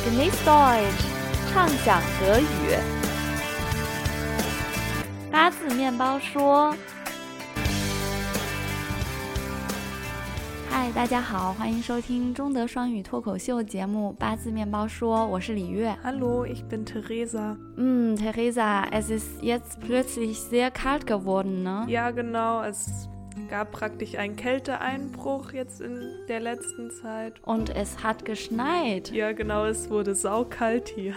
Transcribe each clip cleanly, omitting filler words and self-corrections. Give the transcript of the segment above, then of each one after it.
Genieß Deutsch，畅享德语。八字面包说。嗨，大家好，欢迎收听中德双语脱口秀节目《八字面包说》，我是李月。 Hallo, ich bin Theresa. Theresa, es ist jetzt plötzlich sehr kalt geworden, ne? Ja, genau, es gab praktisch einen Kälteeinbruch jetzt in der letzten Zeit. Und es hat geschneit. Ja, genau, es wurde saukalt hier.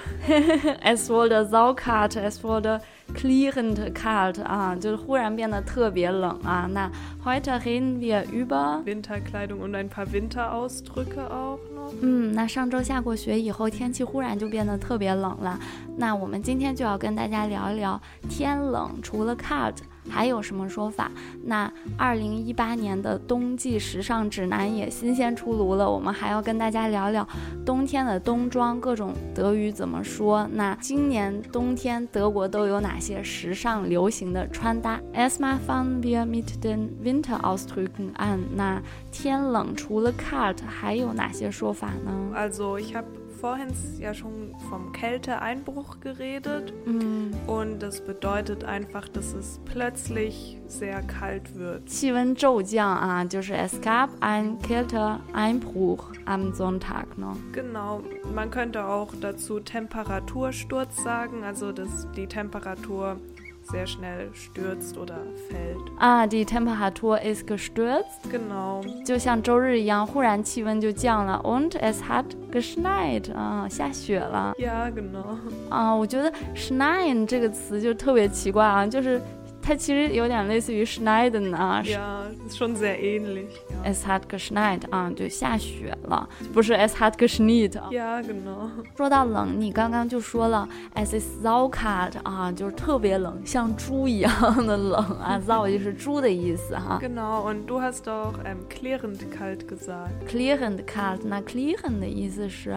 Es wurde saukalt, es wurde klirrend kalt 啊，就是忽然变得特别冷啊。那 heute reden wir über Winterkleidung und ein paar Winterausdrücke auch noch. 那上周下过雪以后，天气忽然就变得特别冷了。那我们今天就要跟大家聊一聊天冷，除了 kalt还有什么说法？那2018年的冬季时尚指南也新鲜出炉了，我们还要跟大家聊聊冬天的冬装，各种德语怎么说。那今年冬天德国都有哪些时尚流行的穿搭？ Erstmal fangen wir mit den Winterausdrücken an。那天冷除了 kalt 还有哪些说法呢？ Also ich habe vorhin ja schon vom Kälteeinbruch geredet und das bedeutet einfach, dass es plötzlich sehr kalt wird. 气温骤降啊，就是 es gab ein Kälteeinbruch am Sonntag 呢。 Genau, man könnte auch dazu Temperatursturz sagen, also dass die Temperatur sehr schnell stürzt oder fällt. 啊， die Temperatur ist gestürzt. Genau. 就像周日一样，忽然气温就降了。Und es hat geschneit. 啊，下雪了。 Ja, genau. 啊，我觉得 schneien 这个词就特别奇怪啊，就是它其实有点类似于 schneiden 啊。 Ja, ist schon sehr ähnlich. Ja. Es hat geschneit 啊，就下雪了，不是 es hat geschneit。 Ja, genau. 说到冷，你刚刚就说了 es ist saukalt 啊，就是特别冷，像猪一样的冷啊。sau 就是猪的意思哈。 Genau, und du hast auch klirrend kalt gesagt. Klirrend kalt, 那 klirrend 的意思是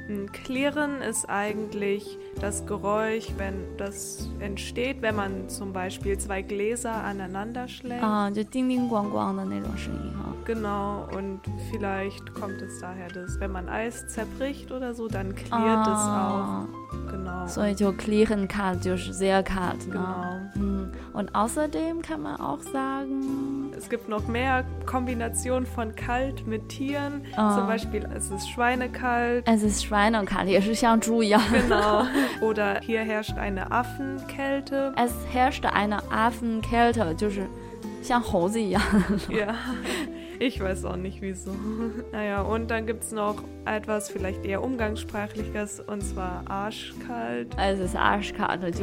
Klirren ist eigentlich das Geräusch, wenn das entsteht, wenn man zum Beispiel zwei Gläser aneinander schlägt. 啊，就叮叮咣咣的那种声音哈。 Genau, und vielleicht kommt es daher, dass wenn man Eis zerbricht oder so, dann klirrt es auch. Genau. 所以就 klirrend kalt 就是 sehr kalt 呢。 Genau. Und außerdem kann man auch sagen, es gibt noch mehr Kombinationen von kalt mit Tieren. Zum Beispiel, es ist schweinekalt. Es ist schweinekalt, 也是像猪一样。 Genau. Oder hier herrscht eine Affenkälte. Es herrscht eine Affenkälte, 就是像猴子一样。 Ja, ich weiß auch nicht wieso. Naja, und dann gibt es noch etwas vielleicht eher Umgangssprachliches, und zwar arschkalt. Es ist arschkalt, 就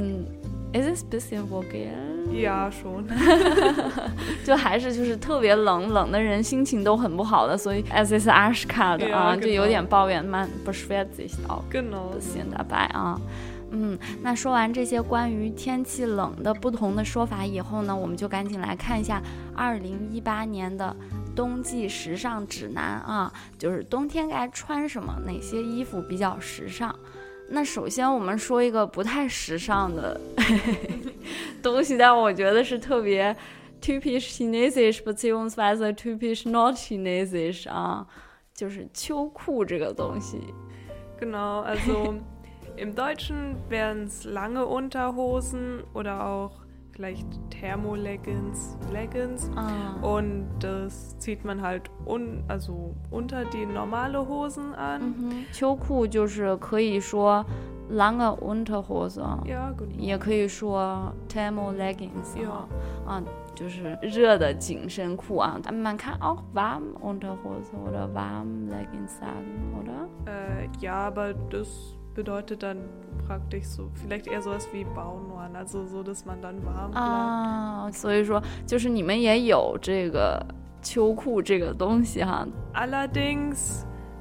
es ist ein bisschen vulgär. Ja, schon. 就还是就是特别冷，冷的人心情都很不好的，所以 es ist arschkalt 啊， 就有点抱怨，man beschwert sich auch Genau. ein bisschen dabei 啊。那说完这些关于天气冷的不同的说法以后呢，我们就赶紧来看一下2018年的冬季时尚指南啊，就是冬天该穿什么，哪些衣服比较时尚。那首先我们说一个不太时尚的东西，但我觉得是特别 typisch chinesisch beziehungsweise typisch not chinesisch 啊，就是秋裤这个东西。 Genau, also im Deutschen wären es lange Unterhosen oder auch vielleicht Thermoleggings, Leggings. Und das zieht man halt also unter die normale Hosen an. 秋裤就是可以说 lange Unterhose， ja, genau. 也可以说 Thermoleggings， ja. 就是热的紧身裤啊。Man kann auch warm Unterhose oder warm Leggings sagen, oder? Ja, aber das bedeutet dann praktisch so, vielleicht eher sowas wie Baunorn, also so, dass man dann warm bleibt. 所以说就是你们也有这个秋裤这个东西哈。 Allerdings,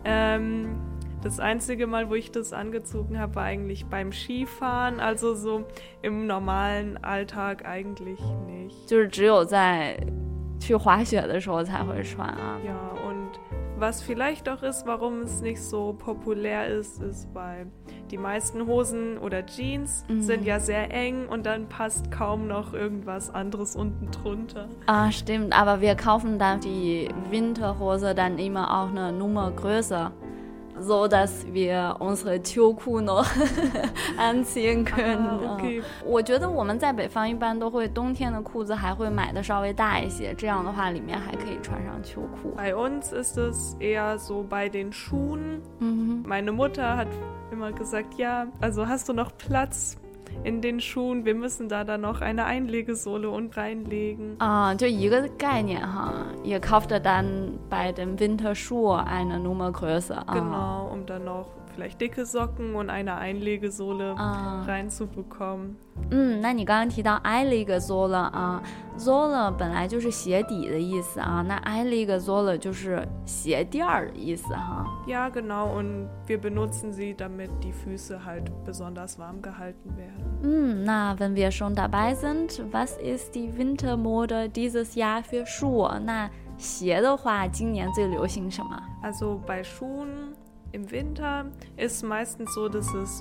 das einzige Mal, wo ich das angezogen habe, war eigentlich beim Skifahren, also so im normalen Alltag eigentlich nicht. 就是只有在去滑雪的时候才会穿啊。 Ja, und was vielleicht auch ist, warum es nicht so populär ist, ist, weil die meisten Hosen oder Jeans sind ja sehr eng und dann passt kaum noch irgendwas anderes unten drunter. Stimmt, aber wir kaufen dann die Winterhose dann immer auch eine Nummer größer. so dass wir unsere 秋裤 noch anziehen können. Okay. 我觉得我们在北方一般都会冬天的裤子还会买的稍微大一些，这样的话里面还可以穿上秋裤。 Bei uns ist es eher so bei den Schuhen. Meine Mutter hat immer gesagt, ja, also hast du noch Platz in den Schuhen? Wir müssen da dann noch eine Einlegesohle und reinlegen. 就一个概念哈，也 kauft dann bei den Winterschuhe eine Nummer größer. Genau, um dann noch vielleicht dicke Socken und eine Einlegesohle reinzubekommen. 那你刚刚提到 Einlegesohle 啊 ，Sohle 本来就是鞋底的意思啊，那 Einlegesohle 就是鞋垫儿的意思哈。 Ja, genau, und wir benutzen sie, damit die Füße halt besonders warm gehalten werden. 那 wenn wir schon dabei sind, was ist die Wintermode dieses Jahr für Schuhe? 那鞋的话，今年最流行什么？ Also bei Schuhen im Winter ist meistens so, dass es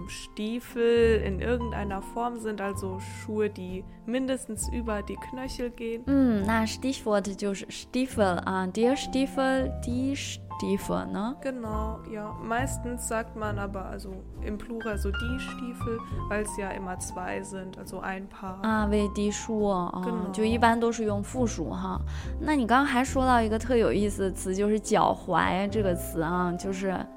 Stiefel in irgendeiner Form sind, also Schuhe, die mindestens über die Knöchel gehen. 那 Stichwort 就是 Stiefel 啊 ，der Stiefel, die Stiefel, ne? Genau, ja. Meistens sagt man aber also im Plural so die Stiefel, weil es ja immer zwei sind, also ein Paar. 为die Schuhe 啊， genau. 就一般都是用复数哈。那你刚刚还说到一个特有意思的词，就是脚踝这个词啊，就是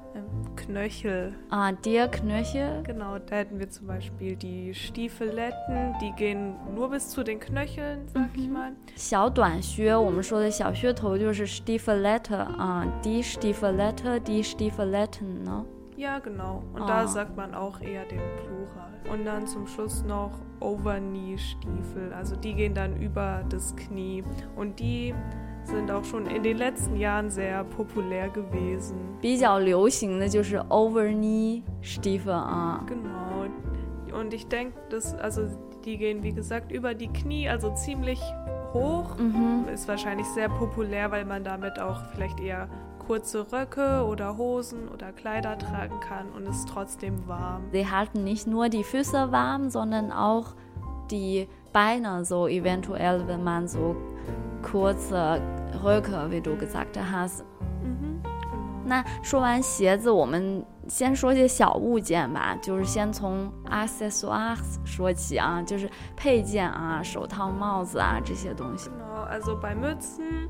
Knöchel. Der Knöchel. Genau, da hätten wir zum Beispiel die Stiefeletten, die gehen nur bis zu den Knöcheln, sag ich mal. 小短靴，我们说的小靴头就是 Stiefelette 啊 die Stiefelette, die Stiefeletten 呢。 Ja, genau. Und da sagt man auch eher den Plural. Und dann zum Schluss noch Overknee-Stiefel. Also die gehen dann über das Knie. Und die sind auch schon in den letzten Jahren sehr populär gewesen. 比较流行的就是 Overknee Stiefel 啊。 Genau. Und ich denke, also die gehen wie gesagt über die Knie, also ziemlich hoch. Ist wahrscheinlich sehr populär, weil man damit auch vielleicht eher kurze Röcke oder Hosen oder Kleider tragen kann und ist trotzdem warm. Sie halten nicht nur die Füße warm, sondern auch die Beine so eventuell, wenn man so kurze Röcke, wie du gesagt hast. 那说完鞋子，我们先说些小物件吧，就是先从 accessoires 说起啊，就是配件啊，手套、帽子啊这些东西。 Genau, also bei Mützen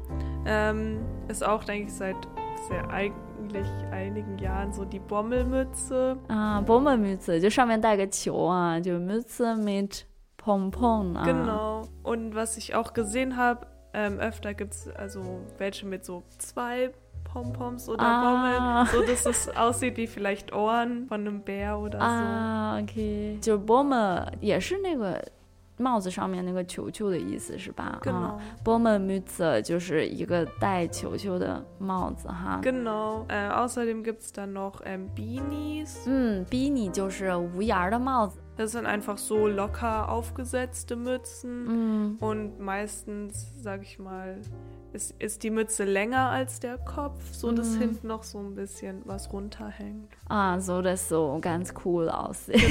ist auch, denke ich, seit eigentlich einigen Jahren so die Bommelmütze. Bommelmütze 就上面带个球啊，就 Mütze mit Pompon 啊。 Genau. Und was ich auch gesehen habe, öfter gibt es also welche mit so 2 Pompoms oder Bommeln, so dass es aussieht wie vielleicht Ohren von einem Bär oder so. OK， 就 Bommel 也是那个帽子上面那个球球的意思是吧？ Genau. Bommelmütze 就是一个带球球的帽子哈。 Genau. Außerdem gibt es dann noch Beanies. Beanie 就是无檐的帽子。 Das sind einfach so locker aufgesetzte Mützen und meistens, sag ich mal, ist die Mütze länger als der Kopf, so dass hinten noch so ein bisschen was runterhängt. So dass so ganz cool aussieht.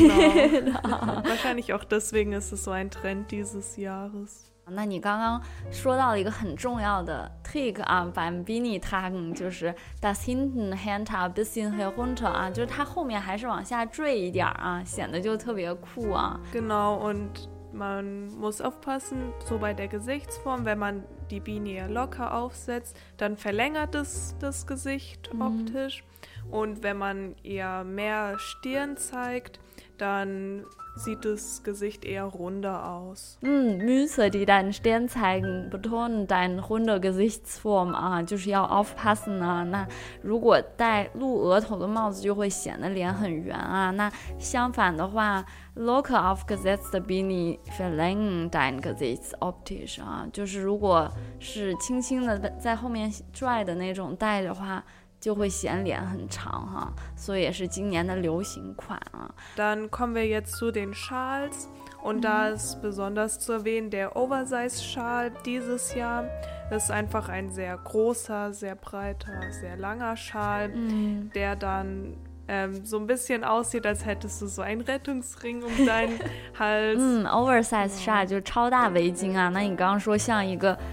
Genau. Wahrscheinlich auch deswegen ist es so ein Trend dieses Jahres. 那你刚刚说到了一个很重要的 trick 啊 beim Beanie tragen 就是 das hinten hängt ein bisschen herunter 啊，就是它后面还是往下坠一点啊，显得就特别酷啊。 Genau, und man muss aufpassen, so bei der Gesichtsform, wenn man die Beanie eher locker aufsetzt, dann verlängert es das Gesicht optisch. Und wenn man eher mehr Stirn zeigt, dann sieht das Gesicht eher runder aus. Mütze, die deinen Stirn zeigen, betonen deine runde Gesichtsform 啊，就是要 aufpassen 啊。那如果戴露额头的帽子，就会显得脸很圆啊。那相反的话 ，locker aufgesetzte Beanie verlängern dein Gesicht optisch 啊，就是如果是轻轻的在后面拽的那种戴的话。 就会显脸很长哈，所以也是今年的流行款啊。 Dann kommen wir jetzt zu den Schals und da ist besonders zu erwähnen der Oversize-Schal dieses Jahr. Das ist einfach ein sehr großer, sehr breiter, sehr langer Schal, der dann so ein bisschen aussieht, als hättest du so einen Rettungsring um deinen Hals. Oversize 纱就是超大围巾啊。那你刚刚说像一个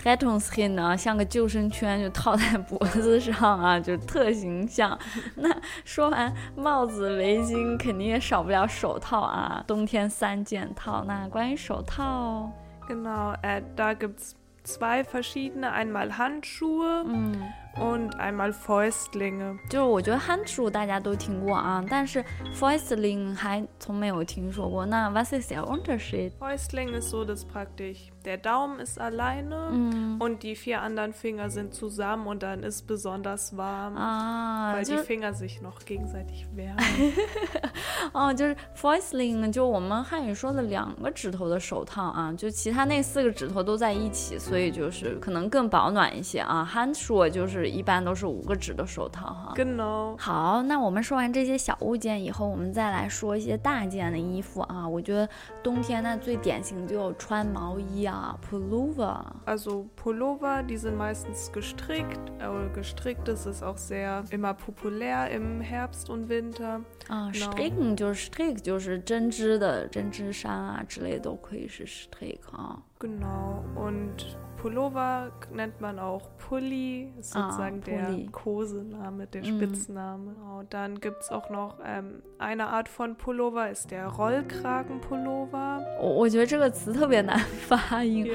Rettungsring 啊，像个救生圈就套在脖子上啊，就特形象。那说完帽子、围巾，肯定也少不了手套啊，冬天3件套。那关于手套 Genau, da gibt's 2 verschiedene, einmal Handschuhe und einmal Fäustlinge. 就是我觉得 Handschuhe 大家都听过啊，但是 Fäustling 还从没有听说过。那 was ist der Unterschied? Fäustling ist so, dass praktisch der Daumen ist alleine und die 4 anderen Finger sind zusammen und dann ist besonders warm, weil die Finger sich noch gegenseitig wärmen. 哦，就是 Fäustling 就我们汉语说的2个指头的手套啊，就其他那4个指头都在一起，所以就是可能更保暖一些啊。Handschuhe 就是一般都是5个指的手套哈。 Genau. 好，那我们说完这些小物件以后，我们再来说一些大件的衣服啊。我觉得冬天呢最典型就有穿毛衣啊 Pullover. Also Pullover, die sind meistens gestrickt. Gestrickt ist auch sehr immer populär im Herbst und Winter. 啊 ，stricken 就是 strick 就是针织的针织衫啊之类都可以是 strick 啊。 Genau, und Pullover nennt man auch Pulli, ist sozusagen der Kosename, der Spitzname. Genau, dann gibt es auch noch eine Art von Pullover, ist der Rollkragenpullover. 我觉得这个词特别难发音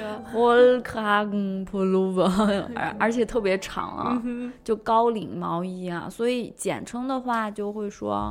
，Rollkragenpullover 而且特别长啊，就高领毛衣啊，所以简称的话就会说。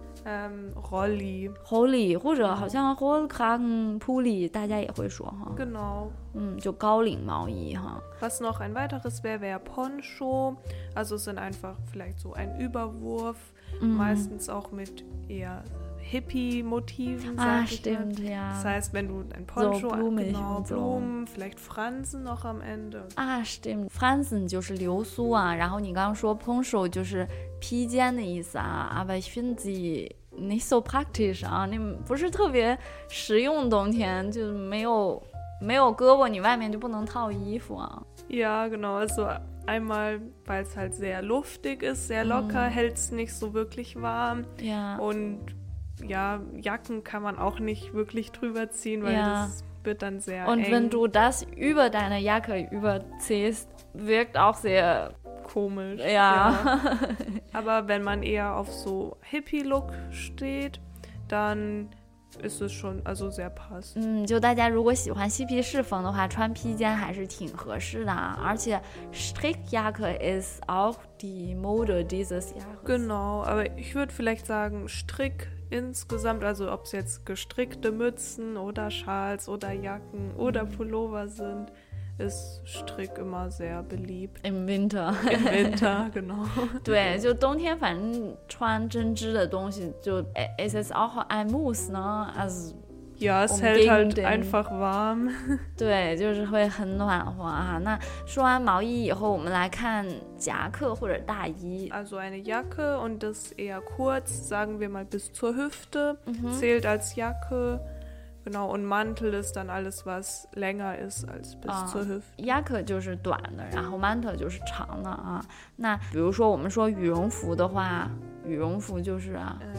Rolli 或者好像 Rollkragenpulli 大家也会说哈。 Genau. 就高领毛衣哈。 Was noch ein weiteres wäre Poncho. Also es sind einfach vielleicht so ein Überwurf, meistens auch mit eher Hippie-Motiven. Stimmt, ja. Das heißt, wenn du ein Poncho, so blumig genau, so. Blumen, vielleicht Fransen noch am Ende. Stimmt. Fransen 就是流苏啊，然后你刚刚说 Poncho 就是披肩的意思啊。Aber ich finde sie nicht so praktisch 啊，那不是特别实用，冬天就没有胳膊，你外面就不能套衣服啊。 Ja, genau. Also einmal, weil es halt sehr luftig ist, sehr locker, hält es nicht so wirklich warm. Ja. Und ja, Jacken kann man auch nicht wirklich drüber ziehen, weil das wird dann sehr eng. Und wenn du das über deine Jacke überziehst, wirkt auch sehr komisch. Ja. Aber wenn man eher auf so Hippie-Look steht, dann ist es schon also sehr passend. 就大家如果喜欢嬉皮士风的话，穿披肩还是挺合适的啊。而且 Strickjacke ist auch die Mode dieses Jahres. Genau, aber ich würde vielleicht sagen Strick insgesamt, also ob es jetzt gestrickte Mützen oder Schals oder Jacken oder Pullover sind, ist Strick immer sehr beliebt. Im Winter. Im Winter, genau. 对，就冬天反正穿针织的东西就 es ist auch ein Muss 呢 also Ja, es hält halt einfach warm. 对，就是会很暖和啊。那说完毛衣以后，我们来看夹克或者大衣。 Also eine Jacke und das eher kurz, sagen wir mal bis zur Hüfte, zählt als Jacke. Genau, und Mantel ist dann alles, was länger ist als bis zur Hüfte. Jacke 就是短的，然后 Mantel 就是长的啊。那比如说我们说羽绒服的话，羽绒服就是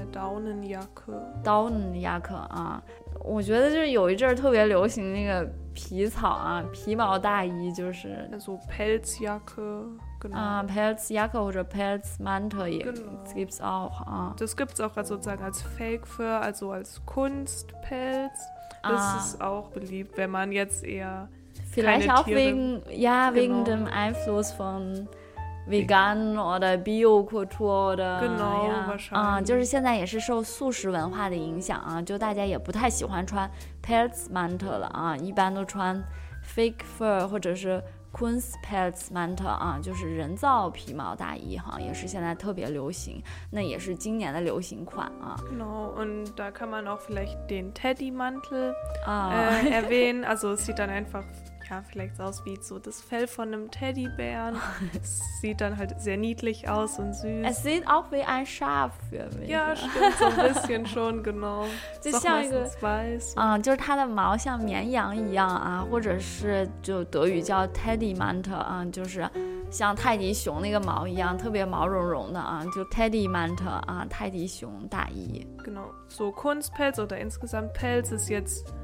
Daunenjacke 啊。我觉得就是有一阵儿特别流行那个皮草啊，皮毛大衣就是。 So Pelzjacke. Genau. Pelzjacke oder Pelzmantel gibt's auch. Das gibt's auch sozusagen als Fake Fur, also als Kunstpelz. Das ist auch beliebt, wenn man jetzt eher vielleicht keine auch Tiere, wegen dem Einfluss von Vegan oder Biokultur oder wahrscheinlich. 就是现在也是受素食文化的影响啊，就大家也不太喜欢穿 Pelzmantel 了啊，一般都穿 Fake Fur 或者是Kunstpelzmantel 啊，就是人造皮毛大衣哈，也是现在特别流行，那也是今年的流行款啊。 Genau, und da kann man auch vielleicht den Teddymantel erwähnen. Also es sieht dann einfach vielleicht aus wie so das Fell von einem Teddybären. Es sieht dann halt sehr niedlich aus und süß. Es sieht auch wie ein Schaf für mich. Ja, stimmt, so ein bisschen schon, genau. 就像一个 weiß. 就是它的毛像绵羊一样啊，或者是就德语叫 Teddymantel 啊，就是像泰迪熊那个毛一样，特别毛茸茸的啊，就 Teddymantel 啊，泰迪熊大衣。 Genau, so Kunstpelz oder insgesamt Pelz ist jetzt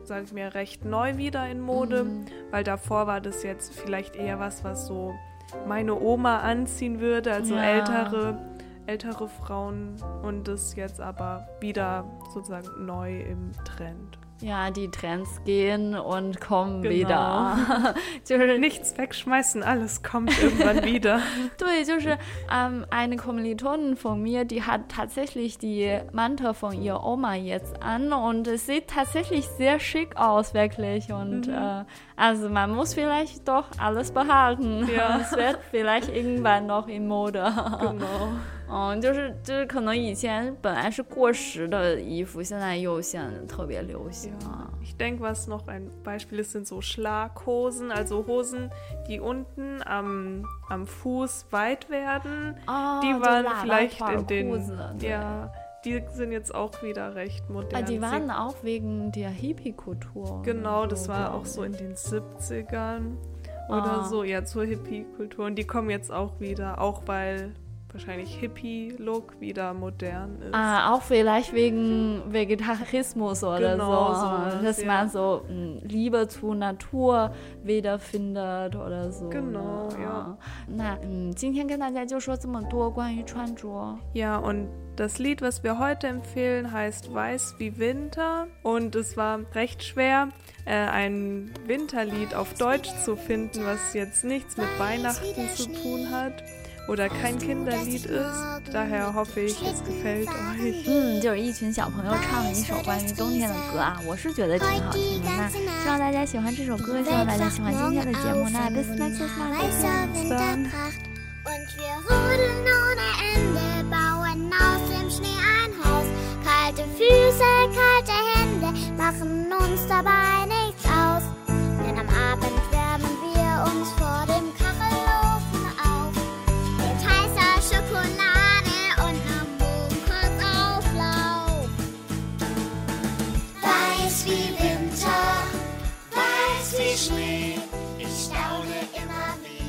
sage ich mir, recht neu wieder in Mode, weil davor war das jetzt vielleicht eher was so meine Oma anziehen würde, also ältere Frauen, und das jetzt aber wieder sozusagen neu im Trend. Ja, die Trends gehen und kommen wieder. Nichts wegschmeißen, alles kommt irgendwann wieder. 对，就是eine Kommilitonin von mir, die hat tatsächlich die Mantel von ihrer Oma jetzt an und es sieht tatsächlich sehr schick aus, wirklich. Und also man muss vielleicht doch alles behalten. Ja. Es wird vielleicht irgendwann noch in Mode. Genau. 就是可能以前本来是过时的衣服，现在又显得特别流行。 Ich denke, was noch ein Beispiel ist, sind so Schlaghosen, also Hosen, die unten am Fuß weit werden. Die waren vielleicht in den... die sind jetzt auch wieder recht modern. Die waren auch wegen der Hippie-Kultur. Genau, das war auch so in den 70ern oder so, ja, zur Hippie-Kultur. Und die kommen jetzt auch wieder, auch weil wahrscheinlich Hippie-Look wieder modern ist. Auch vielleicht wegen Vegetarismus oder so. Dass man so Liebe zur Natur wiederfindet oder so. Genau, ja. 那今天跟大家就说这么多关于穿着。 Ja, und das Lied, was wir heute empfehlen, heißt Weiß wie Winter, und es war recht schwer, ein Winterlied auf Deutsch zu finden, was jetzt nichts mit Weihnachten zu tun hat oder kein Kinderlied ist. Daher hoffe ich, es gefällt euch. 就是一群小朋友唱的一首关于冬天的歌啊，我是觉得挺好听的。那希望大家喜欢这首歌，希望大家喜欢今天的节目。那bis nächstes Mal. Und wir rodeln ohne Ende, bauen aus dem Schnee ein Haus. Kalte Füße, kalte Hände, machen uns dabei nichts aus. Denn am Abend wärmen wir uns vor dem Kachelofen auf. Mit heißer Schokolade und einem Mohrenauflauf. Weiß wie Winter, weiß wie Schnee, ich staune immer wieder.